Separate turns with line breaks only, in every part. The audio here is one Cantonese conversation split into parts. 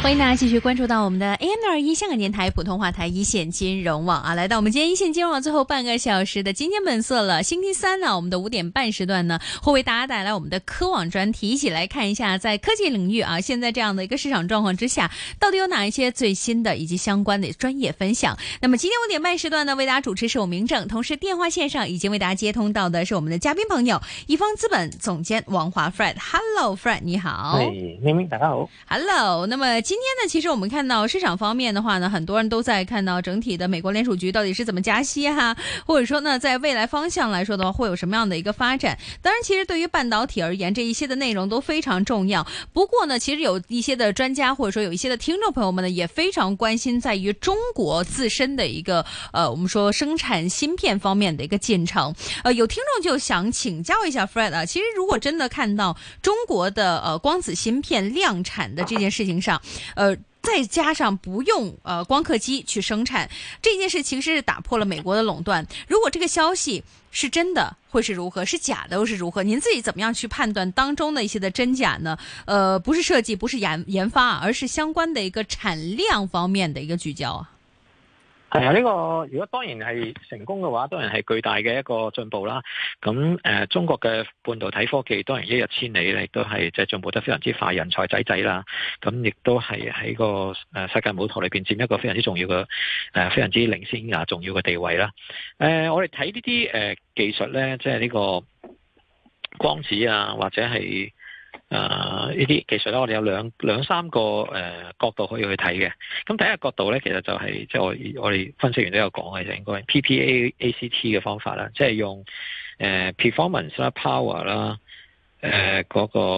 欢迎大家继续关注到我们的 AM621 香港電台普通話台一線金融網啊，來到我們今天一線金融網最後半個小時的今天本色了。星期三呢，我們的5點半時段呢，會為大家帶來我們的科網專題，一起來看一下在科技領域啊，現在這樣的一個市場狀況之下，到底有哪一些最新的以及相關的專業分享。那麼今天5點半時段呢，為大家主持是我明正，同時電話線上已經為大家接通到的是我們的嘉賓朋友，易方資本總監王華 Fred。Hello Fred， 你好。
明明大家好。
Hello， 那麼今天呢，其實我們看到市場方面的話呢，很多人都在看到整體的美國聯儲局到底是怎麼加息哈，或者說呢，在未來方向來說的話，會有什麼樣的一個發展？當然，其實對於半導體而言，這一些的內容都非常重要。不過呢，其實有一些的專家或者說有一些的聽眾朋友們呢，也非常關心在於中國自身的一個我們說生產芯片方面的一個進程。有聽眾就想請教一下 Fred 啊，其實如果真的看到中國的光子芯片量產的這件事情上，再加上不用光刻機去生產這件事，其實是打破了美國的壟斷。如果這個消息是真的，會是如何？是假的，又是如何？您自己怎麼樣去判斷當中的一些的真假呢？不是設計，不是研發，而是相關的一個產量方面的一個聚焦啊。
係啊，呢個如果當然係成功嘅話，當然係巨大嘅一個進步啦。咁中國嘅半導體科技當然一日千里咧，亦都係即係進步得非常之快，人才濟啦。咁亦都係喺個世界舞台裏邊佔一個非常之重要嘅非常之領先啊重要嘅地位啦。我哋睇呢啲技術咧，即係呢個光子啊，或者係呢啲技術咧，我哋有兩三個角度可以去睇嘅。咁第一個角度咧，其實就係即係我哋分析員都有講嘅，就應該 PPACT 嘅方法啦，即係用performance 啦、power 啦、嗰個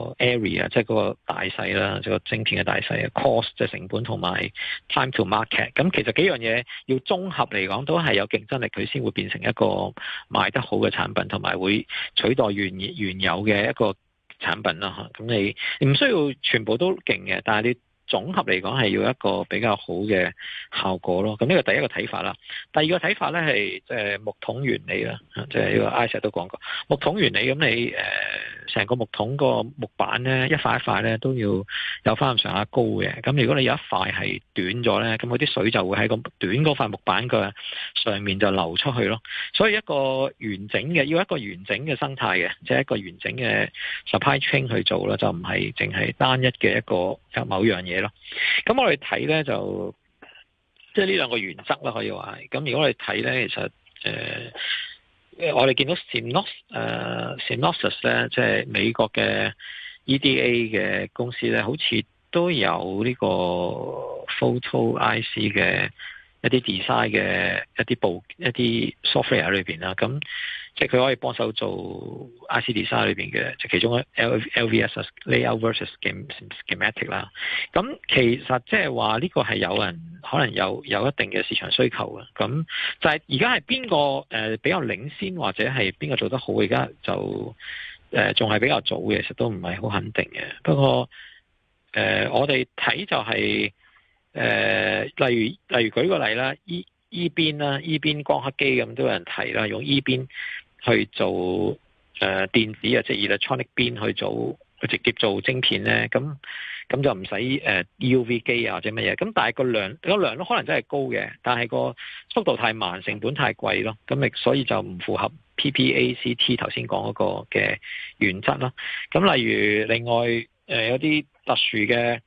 area 即係嗰個大細啦，即係個晶片嘅大細 cost 即係成本同埋 time to market。咁其實幾樣嘢要綜合嚟講，都係有競爭力，佢先會變成一個賣得好嘅產品，同埋會取代原有嘅一個產品啦嚇。咁你唔需要全部都勁嘅，但係你總合嚟講係要一個比較好嘅效果咯。咁呢個第一個睇法啦。第二個睇法咧係即係木桶原理啦，即係呢個 Isaac 都講過木桶原理。咁你成個木桶個木板咧，一塊一塊咧都要有翻咁上下高嘅。咁如果你有一塊係短咗咧，咁嗰啲水就會喺個短嗰塊木板嘅上面就流出去咯。所以一個完整嘅要一個完整嘅生態嘅，即係一個完整嘅 supply chain 去做啦，就唔係淨係單一嘅一個某樣嘢咯。咁我哋睇咧就即係呢兩個原則啦，可以話係。咁如果我哋睇咧，其實我哋見到 Synopsys 咧，即係美國嘅 EDA 嘅公司咧，好似都有呢個 Photo IC 嘅一啲 design 嘅一啲 software 喺裏邊啦。咁即係佢可以幫手做 IC design 裏邊嘅，即係其中 LVS layout versus schematic 啦。咁其實即係話呢個係有人可能有一定嘅市場需求嘅。咁就係而家係邊個比較領先，或者係邊個做得好？而家就仲係比較早嘅，其實都唔係好肯定嘅。不過我哋睇就係例如舉個例啦，E 邊啦，E 邊光刻機咁都有人提啦，用 E 邊去做電子啊，即係 electronic 邊去做，直接做晶片咧，咁就唔使EUV 機啊或者乜嘢。咁但係個量都可能真係高嘅，但係個速度太慢，成本太貴咯。咁所以就唔符合 PPACT 頭先講嗰個嘅原則咯。咁例如另外有啲特殊嘅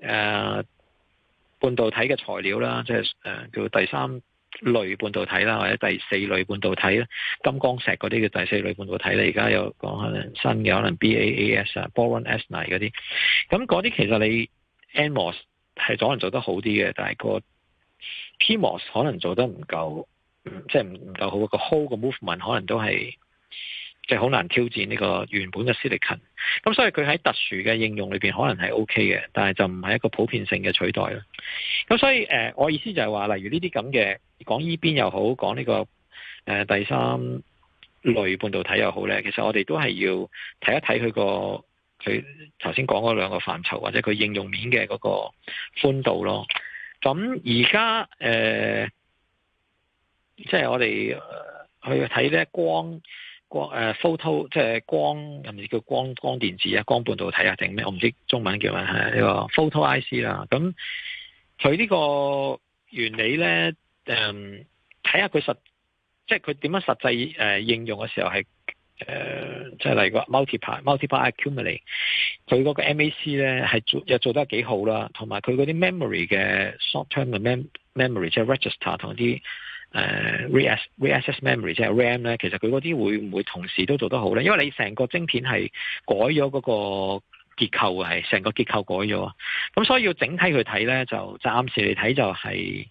半導體嘅材料啦，即係叫第三類半導體啦，或者第四類半導體啦，金剛石嗰啲叫第四類半導體咧。而家有講可能新嘅，可能 BAAS 啊、Boron S9 嗰啲。咁嗰啲其實你 NMOS 係可能做得好啲嘅，但係個 PMOS 可能做得唔夠，即係唔夠好。個 whole 個 movement 可能都係即係好難挑戰呢個原本嘅 silicon。咁所以佢喺特殊嘅應用裏邊可能係 OK 嘅，但係就唔係一個普遍性嘅取代咯。咁所以我意思就係話，例如呢啲咁嘅講依邊又好，講呢個第三類半導體又好咧，其實我哋都係要睇一睇佢頭先講嗰兩個範疇，或者佢應用面嘅嗰個寬度咯。咁而家即係我哋去睇咧光 photo 即係光，係咪叫光電子啊？光半導體啊定咩？我唔知中文叫咩，係呢個 photo IC 啦。咁佢呢個原理咧，睇下佢即係佢點樣實際應用嘅時候係即係例如個 multiply accumulate， 佢嗰個 MAC 咧係又做得幾好啦，同埋佢嗰啲 memory 嘅 short term 嘅 memory 即係 register 同啲reaccess memory 即係 RAM 咧，其實佢嗰啲會唔會同時都做得好咧？因為你成個晶片係改咗嗰個結構，係成個結構改咗，咁所以要整體去睇咧，就暫時嚟睇就係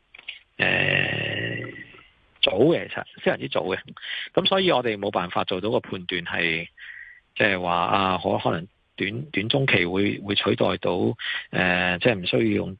早嘅，其實非常之早嘅。咁所以我哋冇辦法做到個判斷係，即係話啊，可能短中期會取代到即係唔需要用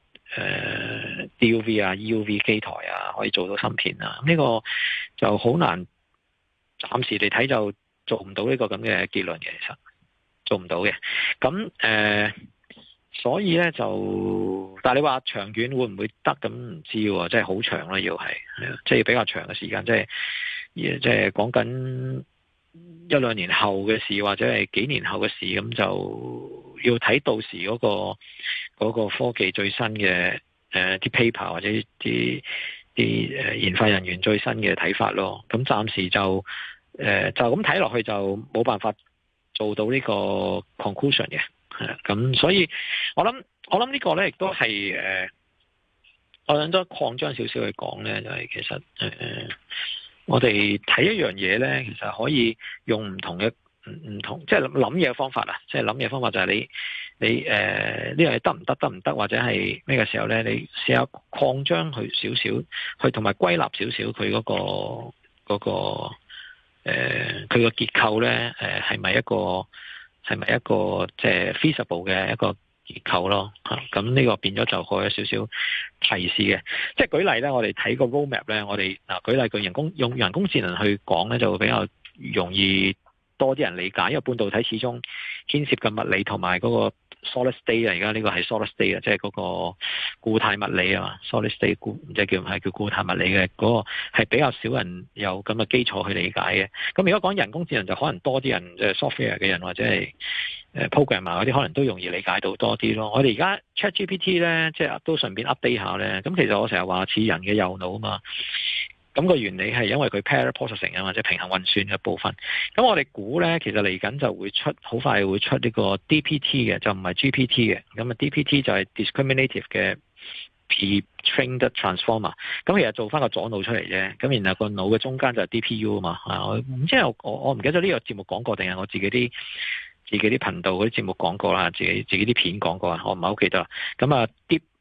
DUV 啊、EUV 機台啊，可以做到芯片啊。呢個就好難，暫時嚟睇就做唔到呢個咁嘅結論嘅，其實做唔到嘅。咁所以咧就，但係你話長遠會唔會得咁唔知喎，即係好長啦，要係即係比較長嘅時間，即係講緊一兩年後嘅事，或者係幾年後嘅事，咁就要睇到時嗰個科技最新嘅啲 paper 或者啲研發人員最新嘅睇法咯。咁暫時就咁睇落去就冇辦法做到呢個 conclusion 嘅。咁所以我諗呢個咧亦都係我諗都擴張少少去講咧，就係其實我哋睇一樣嘢咧，其實可以用唔同，即係諗嘢嘅方法啦。即係諗嘢方法就係你呢樣嘢得唔得，或者係咩嘅時候咧，你試下擴張佢少少，去同埋歸納少少佢嗰個佢個結構咧，係咪一個即係 feasible 嘅一個結構咯？咁呢個變咗就可以有少少提示嘅。即係舉例咧，我哋睇個 roadmap 咧，我哋舉例用人工智能去講咧，就會比較容易多啲人理解，因為半導體始終牽涉嘅物理同埋嗰個 solid state 啊，而家呢個係 solid state 啊，即係嗰個固態物理啊嘛，solid state 即係叫固態物理嘅嗰個係比較少人有咁嘅基礎去理解嘅。咁如果講人工智能就可能多啲人，即係 software 嘅人或者係programmer 嗰啲可能都容易理解到多啲咯。我哋而家 ChatGPT 咧，即係都順便 update 下咧。咁其實我成日話似人嘅右腦啊嘛。咁個原理係因為佢 parallel processing 啊，或者平衡運算嘅部分。咁我哋估咧，其實嚟緊就會好快會出呢個 DPT 嘅，就唔係 GPT 嘅。咁啊 DPT 就係 discriminative 嘅 pre-trained transformer。咁其實做翻個左腦出嚟啫。咁然後個腦嘅中間就係 DPU 啊嘛。我唔知我唔記得咗呢個節目講過定係我自己啲頻道嗰啲節目講過啦，自己啲片講過啊，我唔係好記得啦。咁啊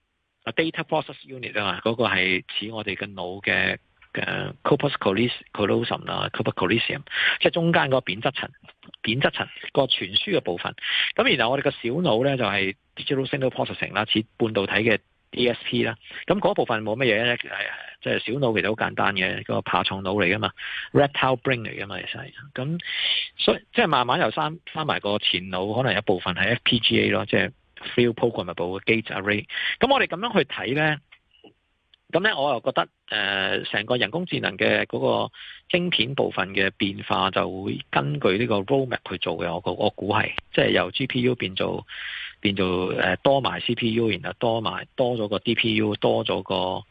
data process unit 啊嘛，嗰個係似我哋嘅腦嘅。corpus callosum 啦 corpus callosum 即係中間嗰個扁質層個傳輸嘅部分。咁然後我哋個小腦咧就係 digital signal processing 啦，似半導體嘅 DSP 啦。咁嗰部分冇乜嘢咧，即係小腦其實好簡單嘅，個爬蟲腦嚟噶嘛 reptile brain 嚟噶嘛，其實咁所以即係慢慢又翻埋個前腦，可能有部分係 FPGA 咯，即係 field programmable gate array。咁我哋咁樣去睇咧。咁咧，我又覺得成個人工智能嘅嗰個晶片部分嘅變化就會根據呢個 roadmap 去做嘅。我估係即係由 GPU 變做多埋 CPU， 然後多咗個 DPU， 多咗個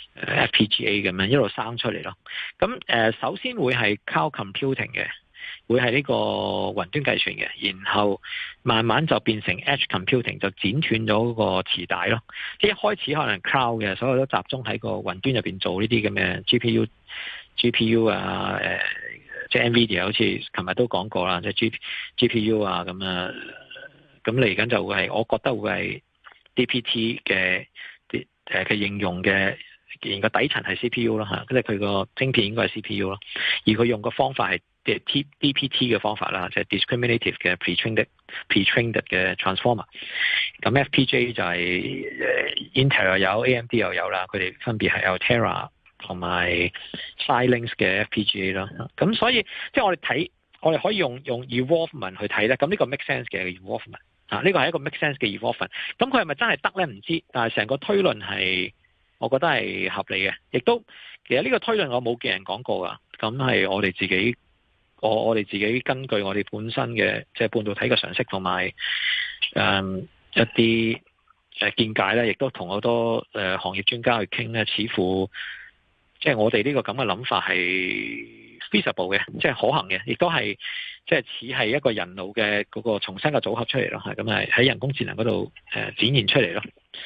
FPGA 咁樣一路生出嚟咯。咁首先會係 cloud computing 嘅。會係呢個雲端計算嘅，然後慢慢就變成 edge computing， 就剪斷咗個磁帶咯。即係一開始可能 cloud 嘅，所有都集中喺個雲端入邊做呢啲咁嘅 GPU 啊，即係 NVIDIA 好似琴日都講過啦，即係 GPU 啊咁啊，咁嚟緊就會係，我覺得會係 DPT 嘅應用嘅，然個底層係 CPU 咯嚇，即係佢個晶片應該係 CPU 咯，而佢用個方法係。DPT 嘅方法啦，即係 discriminative 嘅 pre-trained 嘅 transformer。咁 FPGA 就係Intel 又有 AMD 又有啦，佢哋分別係 Altera 同埋 Xilinx 嘅 FPGA 咯。咁所以即係我哋可以用 evolvement 去睇咧。咁呢個 make sense 嘅 evolvement 啊，呢個係一個 make sense 嘅 evolvement。咁佢係咪真係得咧？唔知，但係成個推論係我覺得係合理嘅。亦都其實呢個推論我冇見人講過噶，咁係我哋自己我哋自己根據我哋本身嘅即係半導體嘅常識同埋一啲見解咧，亦都同好多行業專家去傾咧，似乎即係我哋呢個咁嘅諗法係 feasible 嘅，即係可行嘅，亦都係即係似係一個人腦嘅嗰個重新嘅組合出嚟咯，係咁係喺人工智能嗰度展現出嚟咯。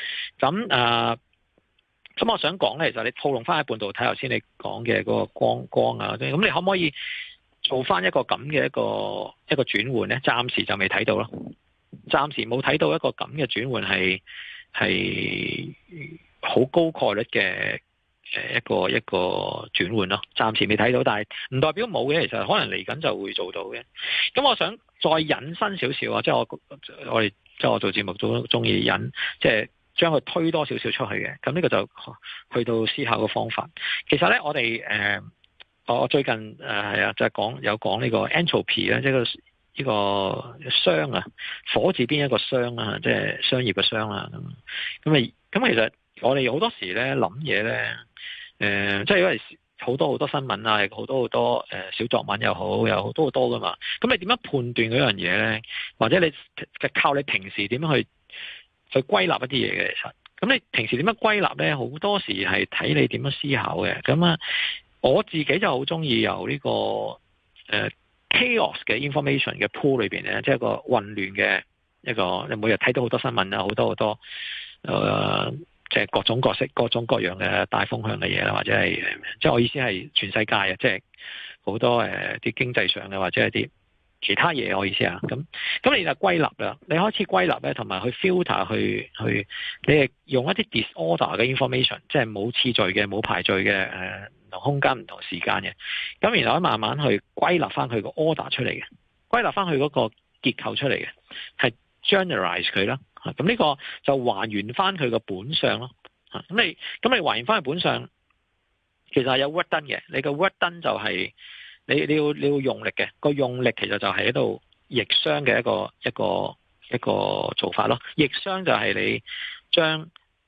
咁我想講咧，其實你套用翻喺半導體頭先你講嘅嗰個光啊，咁你可唔可以做翻一個咁嘅一個轉換咧？暫時就未睇到咯，暫時冇睇到一個咁嘅轉換係好高概率嘅一個轉換咯。暫時未睇到，但係唔代表冇嘅，其實可能嚟緊就會做到嘅。咁我想再引申少少啊，即係我哋即係我做節目都中意引，即係將佢推多少少出去嘅。咁呢個就去到思考嘅方法。其實咧，我哋我最近係啊，就係講呢個 entropy 咧，即係呢個商啊，火字邊一個商啊，即係商業嘅商啊。咁其實我哋好多時咧諗嘢咧，即係因為好多新聞啊，好多小作文又好，有好多噶嘛。咁你點樣判斷嗰樣嘢咧？或者你靠你平時點樣去歸納一啲嘢嘅？其實，咁你平時點樣歸納咧？好多時係睇你點樣思考嘅。咁啊，我自己就好中意由呢個chaos 嘅 information 嘅 pool 裏邊咧，即係一個混亂嘅一個，你每日睇到好多新聞啊，好多即係各種各式、各種各樣嘅大風向嘅嘢啦，或者係即係我意思係全世界啊，即係好多啲經濟上嘅或者係啲其他嘢，我意思啊，咁你就歸納啦，你開始歸納咧，同埋去 filter 去，你係用一啲 disorder 嘅 information， 即係冇次序嘅、冇排序嘅，唔同空間、唔同時間嘅，咁然後慢慢去歸納翻佢個 order 出嚟嘅，歸納翻佢嗰個結構出嚟嘅，係 generalize 佢啦。咁呢個就還原翻佢個本相咯。咁你還原翻佢本相，其實係有 work done 嘅。你個 work done 就係你要用力嘅，個用力其實就係喺度逆熵嘅一個做法咯。逆熵就係你將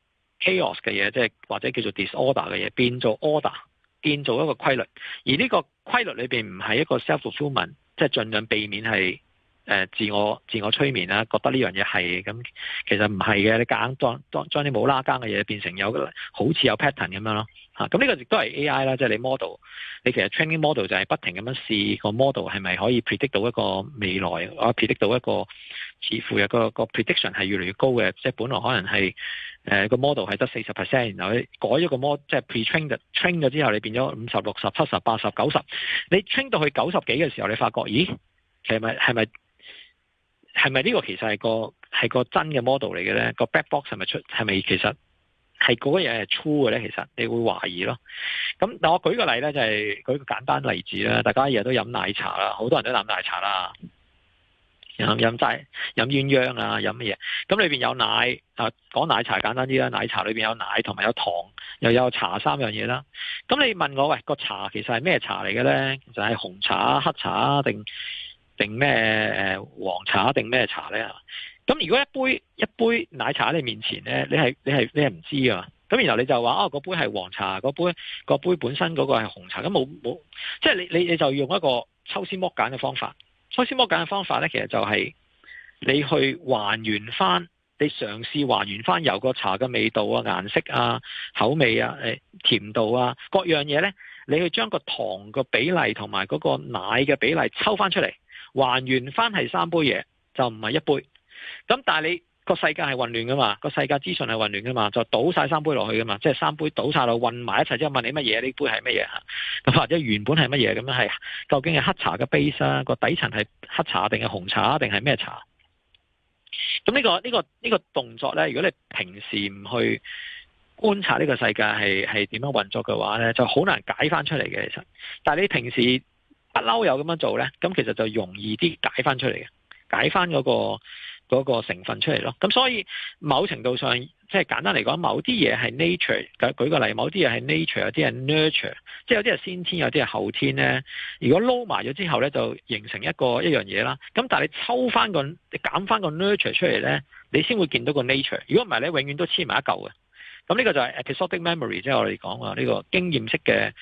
chaos 嘅嘢，即係或者叫做 disorder 嘅嘢，變做 order， 變做一個規律。而呢個規律裏邊唔係一個 self-fulfillment， 即係盡量避免係自我催眠啦，覺得呢樣嘢係咁，其實唔係嘅。你夾硬將啲冇拉更嘅嘢變成好似有 pattern 咁樣咯。咁呢個亦都係 AI 啦，即係你 model， 你其實 training model 就係不停咁樣試個 model 係咪可以 predict 到一個未來，predict 到一個似乎有個 prediction 係越嚟越高嘅，即係本來可能係個 model 係得40%，然後你改咗個 model， 即係 pre-train 咗之後，你變咗50、60、70、80、90，你 train 到去90幾嘅時候，你發覺咦，其實係咪呢個其實係個真嘅 model 嚟嘅咧？個 black box 係咪其實係嗰個嘢係 true 嘅咧？其實你會懷疑咯。咁但我舉個例咧，就係舉個簡單例子啦。大家日日都飲奶茶啦，好多人都飲奶茶啦，飲鴛鴦啊，飲乜嘢？咁裏邊有奶啊，講奶茶簡單啲啦，奶茶裏邊有奶同埋有糖，又有茶三樣嘢啦。咁你問我喂，個茶其實係咩茶嚟嘅咧？就係紅茶、黑茶定咩黃茶定咩茶咧？咁如果一杯奶茶喺你面前咧，你係唔知噶嘛？咁然後你就話嗰杯係黃茶，嗰杯本身嗰個係紅茶，咁冇，即係你就用一個抽絲剝繭嘅方法。抽絲剝繭嘅方法咧，其實就係你去還原翻，你嘗試還原翻由個茶嘅味道啊、顏色啊、口味啊、甜度啊各樣嘢咧，你去將個糖個比例同埋嗰個奶嘅比例抽翻出嚟。還原翻係3杯嘢，就唔係一杯。咁但係你個世界係混亂噶嘛，個世界資訊係混亂噶嘛，就倒晒3杯落去噶嘛，即係3杯倒晒落混埋一齊之後問你乜嘢？呢杯係乜嘢嚇？咁或者原本係乜嘢咁樣？係究竟係黑茶嘅 base 啊？個底層係黑茶定係紅茶定係咩茶？咁呢個動作咧，如果你平時唔去觀察呢個世界係點樣運作嘅話咧，就好難解翻出嚟嘅。其實，但係你平時不嬲有咁樣做咧，咁其實就容易啲解翻出嚟嘅，解翻嗰個成分出嚟咯。咁所以某程度上，即係簡單嚟講，某啲嘢係 nature。舉個例，某啲嘢係 nature，有啲係 nurture，即係有啲係先天，有啲係後天咧。如果撈埋咗之後咧，就形成一樣嘢啦。咁但係你抽翻你減翻個 nurture 出嚟咧，你先會見到個 nature。如果唔係咧，永遠都黐埋一嚿嘅。咁呢個就係 episodic memory，即係我哋講話呢個經驗式嘅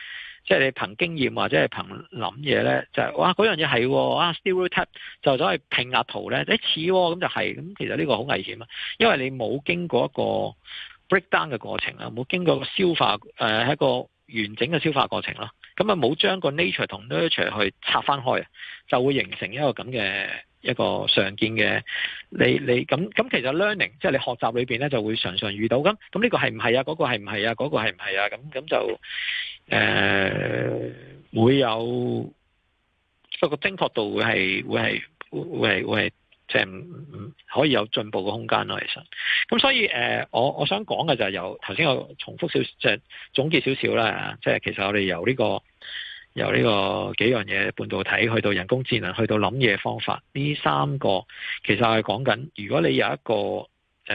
即係你憑經驗或者係憑諗嘢咧，就係哇嗰樣嘢係stereotype 就走去拼壓圖咧，似咁就係咁。其實呢個好危險啊，因為你冇經過一個 breakdown 嘅過程啦，冇經過個消化係一個完整嘅消化過程咯。咁啊冇將個 nature 同 nurture 去拆翻開，就會形成一個咁嘅一個常見嘅你咁其實 learning 即係你學習裏邊咧就會常常遇到咁呢個係唔係啊？嗰個係唔係啊？嗰個係唔係啊？咁就會有個精確度會係即係唔可以有進步嘅空間咯。其實咁所以我想講嘅就係由頭先我重複即係總結少少啦。即係其實我哋由呢個幾樣嘢，半導體去到人工智能，去到諗嘢方法，呢三個其實係講緊，如果你有一個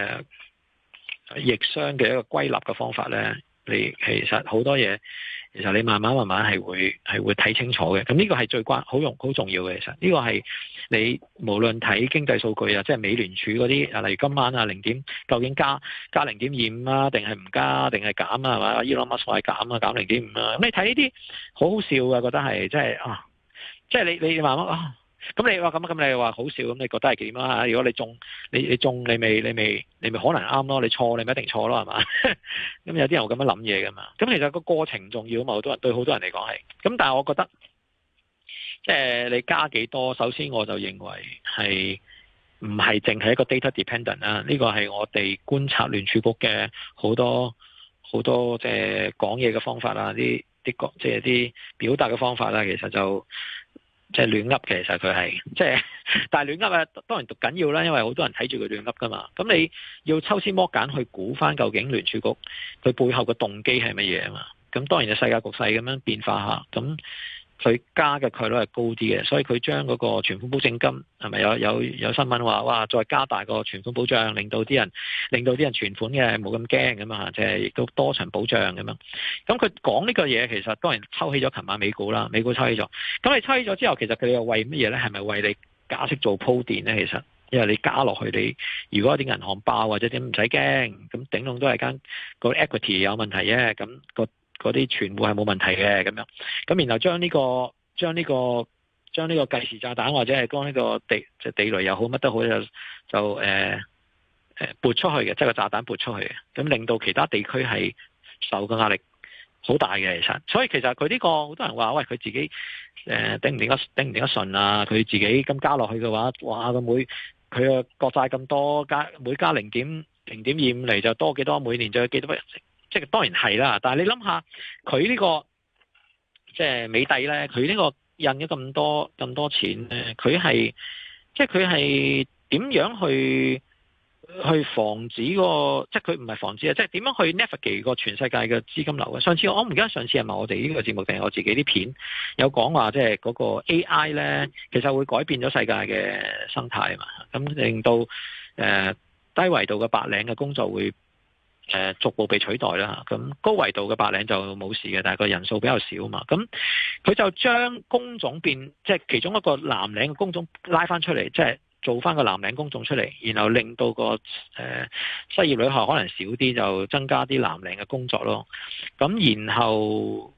逆商嘅一個歸納嘅方法咧，你其實好多嘢，其實你慢慢係會睇清楚嘅。咁呢個係最好重要嘅。其實呢個係你無論睇經濟數據啊，即係美聯儲嗰啲啊，例如今晚啊究竟加0.25啊，定係唔加，定係減啊，係嘛？Elon Musk話減啊，減0.5啊。咁你睇呢啲好好笑啊，覺得係即係你慢慢啊。咁你話咁你話好笑，咁你覺得係點啊？如果你中你咪可能啱咯，你錯你咪一定錯咯，係嘛？咁有啲人會咁樣諗嘢噶嘛？咁其實個過程重要啊嘛，好多人對好多人嚟講係。咁但係我覺得，即係你加幾多，首先我就認為係唔係淨係一個 data dependent 啦。呢個係我哋觀察聯儲局嘅好多即係講嘢嘅方法啦，即係啲表達嘅方法啦，其實就。即係亂噏嘅，其實佢係即係，但係亂噏啊，當然讀緊要啦，因為好多人睇住佢亂噏噶嘛。咁你要抽絲剝繭去估翻究竟聯儲局佢背後嘅動機係乜嘢啊嘛？咁當然就世界局勢咁樣變化下，咁佢加嘅概率係高啲嘅，所以佢將嗰個存款保證金係咪有新聞話哇再加大個存款保障，令到啲人存款嘅冇咁驚咁啊，即係亦都多層保障咁樣。咁佢講呢個嘢其實當然抽起咗琴晚美股啦，美股抽起咗。咁你抽起咗之後，其實佢哋又為乜嘢咧？係咪為你加息做鋪墊咧？其實因為你加落去，你如果有啲銀行爆或者點唔使驚，咁頂籠都係間個 equity 有問題啫，咁嗰啲存戶係冇問題嘅咁樣，咁然後將呢個計時炸彈或者係將呢個地雷又好乜都好就撥出去嘅，即係個炸彈撥出去嘅，咁令到其他地區係受嘅壓力好大嘅。其實，所以其實佢呢個好多人話喂，佢自己頂唔頂得順啊？佢自己咁加落去嘅話，哇佢個國債咁多每加0.25嚟就多幾多，每年就有幾多？即係當然係啦，但係你諗下佢呢個即係美帝咧，佢呢個印咗咁多錢咧，佢係點樣去防止個？即係佢唔係防止啊，即係點樣去 navigate 個全世界嘅資金流嘅？上次我唔記得上次係咪我哋呢個節目定係我自己啲片有講話，即係嗰個 AI 咧，其實會改變咗世界嘅生態啊嘛，咁令到低維度嘅白領嘅工作會逐步被取代啦，咁高維度嘅白領就冇事嘅，但係個人數比較少嘛。咁佢就將工種即係其中一個藍領嘅工種拉翻出嚟，即係做翻個藍領工種出嚟，然後令到個失業率可能少啲，就增加啲藍領嘅工作咯。咁然後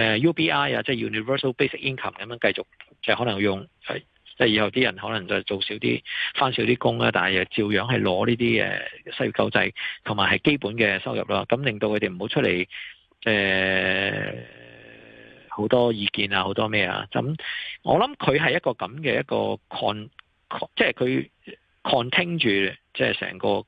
UBI 啊，即係 Universal Basic Income 咁樣繼續，就可能用即係以後啲人可能就做少啲，翻少啲工啦，但係又照樣係攞呢啲失業救濟同埋係基本嘅收入啦。咁令到佢哋唔好出嚟好多意見啊，好多咩啊。咁我諗佢係一個咁嘅一個即係佢 contain 住即係成個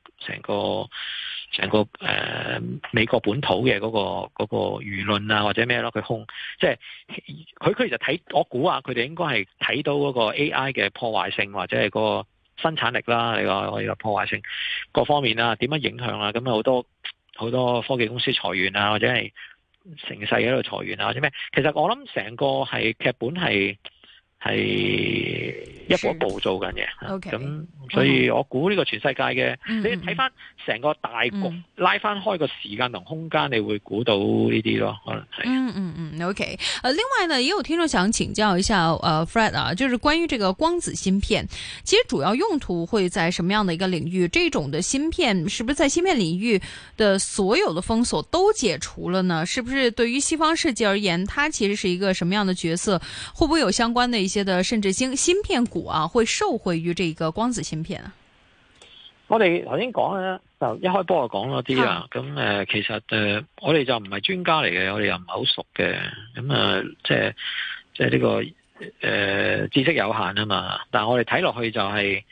美國本土嘅嗰個輿論啊，或者咩咯，佢即係佢其實我估啊，佢哋應該係睇到嗰個 AI 嘅破壞性，或者係個生產力啦，你個破壞性各方面啊，點樣影響啊？咁啊好多科技公司裁員啊，或者係成世喺度裁員啊，或者咩？其實我諗成個係劇本係係一步一步做緊嘅。咁所以我估呢個全世界嘅，你睇翻成個大局，拉翻開個時間同空間，你會估到呢啲咯，可能係。
OK。另外呢，也有聽眾想請教一下Fred 啊，就是關於這個光子芯片，其實主要用途會在什麼樣的一個領域？這種的芯片是不是在芯片領域的所有的封鎖都解除了呢？是不是對於西方世界而言，它其實是一個什麼樣的角色？會不會有相關的一些的甚至芯片股啊，會受惠於這個光子芯片啊？
我哋頭先講咧，就一開波就講咗啲啦。咁其實我哋就唔係專家嚟嘅，我哋又唔係好熟嘅。咁即係呢個知識有限啊嘛。但係我哋睇落去就係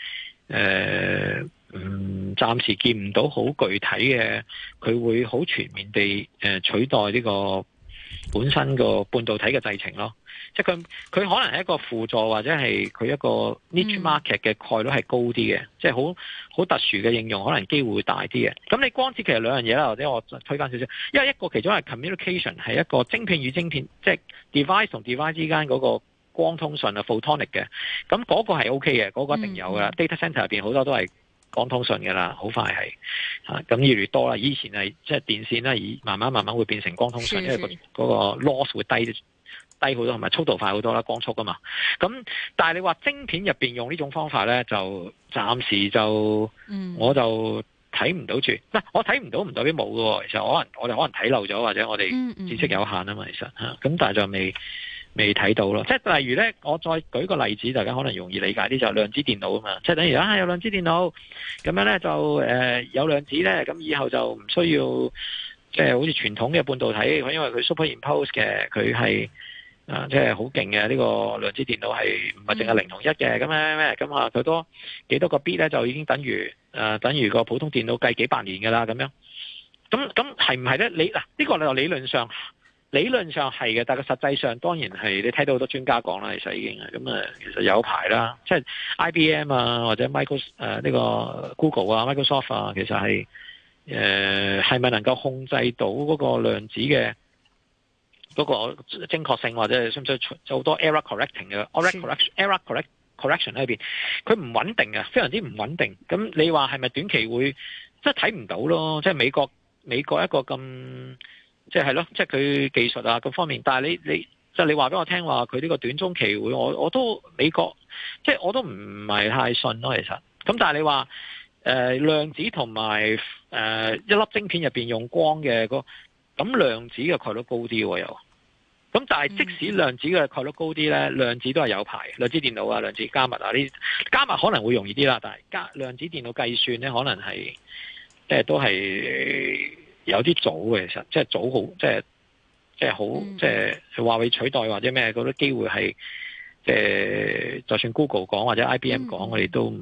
暫時見唔到好具體嘅，佢會好全面地取代呢個本身個半導體嘅製程咯。即係佢可能係一個輔助，或者係佢一個 niche market 嘅概率係高啲嘅，即係好特殊嘅應用，可能機會會大啲嘅。咁你光子其實兩樣嘢啦，或者我推翻少少，因為一個其中係 communication， 係一個晶片與晶片，即係 device 同 device 之間嗰個光通訊啊 photonic 嘅，咁嗰個係 OK 嘅，嗰個一定有噶。data center 入邊好多都係光通訊噶啦，好快係咁越嚟越多啦。以前係即係電線啦，慢慢會變成光通訊，因為嗰個 loss 會低好多，同埋速度快好多啦，光速啊嘛。咁但係你話晶片入邊用呢種方法咧，就暫時就我就睇唔到住。我睇唔到唔代表冇嘅，其實我哋可能睇漏咗，或者我哋知識有限啊嘛，其實咁但係就未睇到咯。即係例如咧，我再舉個例子，大家可能容易理解啲，就係量子電腦啊嘛。即係等於有量子電腦咁樣咧，就有量子咧，咁以後就唔需要即係好似傳統嘅半導體，因為佢 superimpose 嘅，佢係即係好勁嘅。呢個量子電腦係唔係淨係0同1嘅，咁咩咁啊？佢多幾多個 bit 咧，就已經等於個普通電腦計幾百年噶啦，咁樣。咁係唔係咧？呢個就理論上係嘅，但係實際上當然係你睇到好多專家講啦，其實已經咁其實有排啦，即係 IBM 啊，或者呢個 Google 啊、Microsoft 啊，其實係咪能夠控制到嗰個量子嘅嗰個精確性，或者需唔需要好多 error correcting 嘅 error correction 喺邊？佢唔穩定嘅，非常之唔穩定。咁你話係咪短期會即係睇唔到咯？即係美國一個咁即係咯，即係佢技術啊各方面。但係你即係你話俾我聽話，佢呢個短中期會，我都美國即係我都唔係太信咯，其實。咁但係你話量子同埋一粒晶片入邊用光嘅咁量子嘅概率高啲喎又。咁但係即使量子嘅概率高啲咧，量子都係有排，量子電腦啊、量子加密啊呢，加密可能會容易啲啦，但係量子電腦計算咧可能係即係都係有啲早嘅，其實即係早好，即係好，即係話會取代或者咩嗰啲機會係，即係就算 Google 講或者 IBM 講，我哋都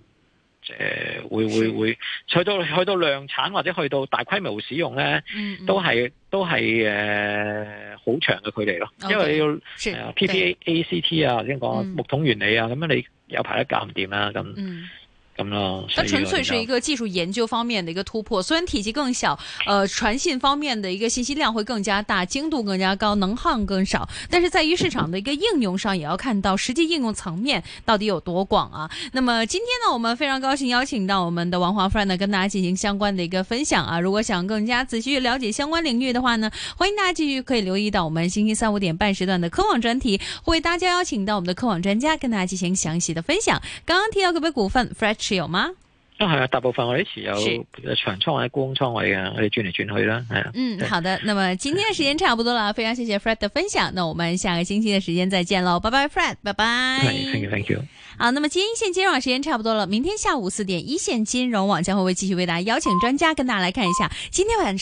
會去到量產或者去到大規模使用咧，都係好長嘅距離咯，因為你要PPACT 啊，頭先講木桶原理啊，咁樣你有排都搞唔掂啦咁。
它純粹是一個技術研究方面的一個突破，雖然體積更小，傳信方面的一個信息量會更加大，精度更加高，能耗更少，但是在於市場的一個應用上，也要看到實際應用層面到底有多廣啊。那麼今天呢，我們非常高興邀請到我們的王華 Fred 呢，跟大家進行相關的一個分享啊。如果想更加仔細了解相關領域的話呢，歡迎大家繼續可以留意到我們星期3、5點半時段的科網專題，會為大家邀請到我們的科網專家跟大家進行詳細的分享。剛剛提到嗰筆股份 Fred 持有嗎？
係啊，大部分我哋持有長倉或者沽空倉位嘅，我哋轉嚟轉去啦，係啊。
好的，那麼今天的時間差不多了，非常謝謝 Fred 的分享，那我們下個星期的時間再見嘍，拜拜 Fred， 拜拜。
Thank you。
好，那麼今天一線金融網時間差不多了，明天下午4點一線金融網將會繼續為大家邀請專家跟大家來看一下今天晚上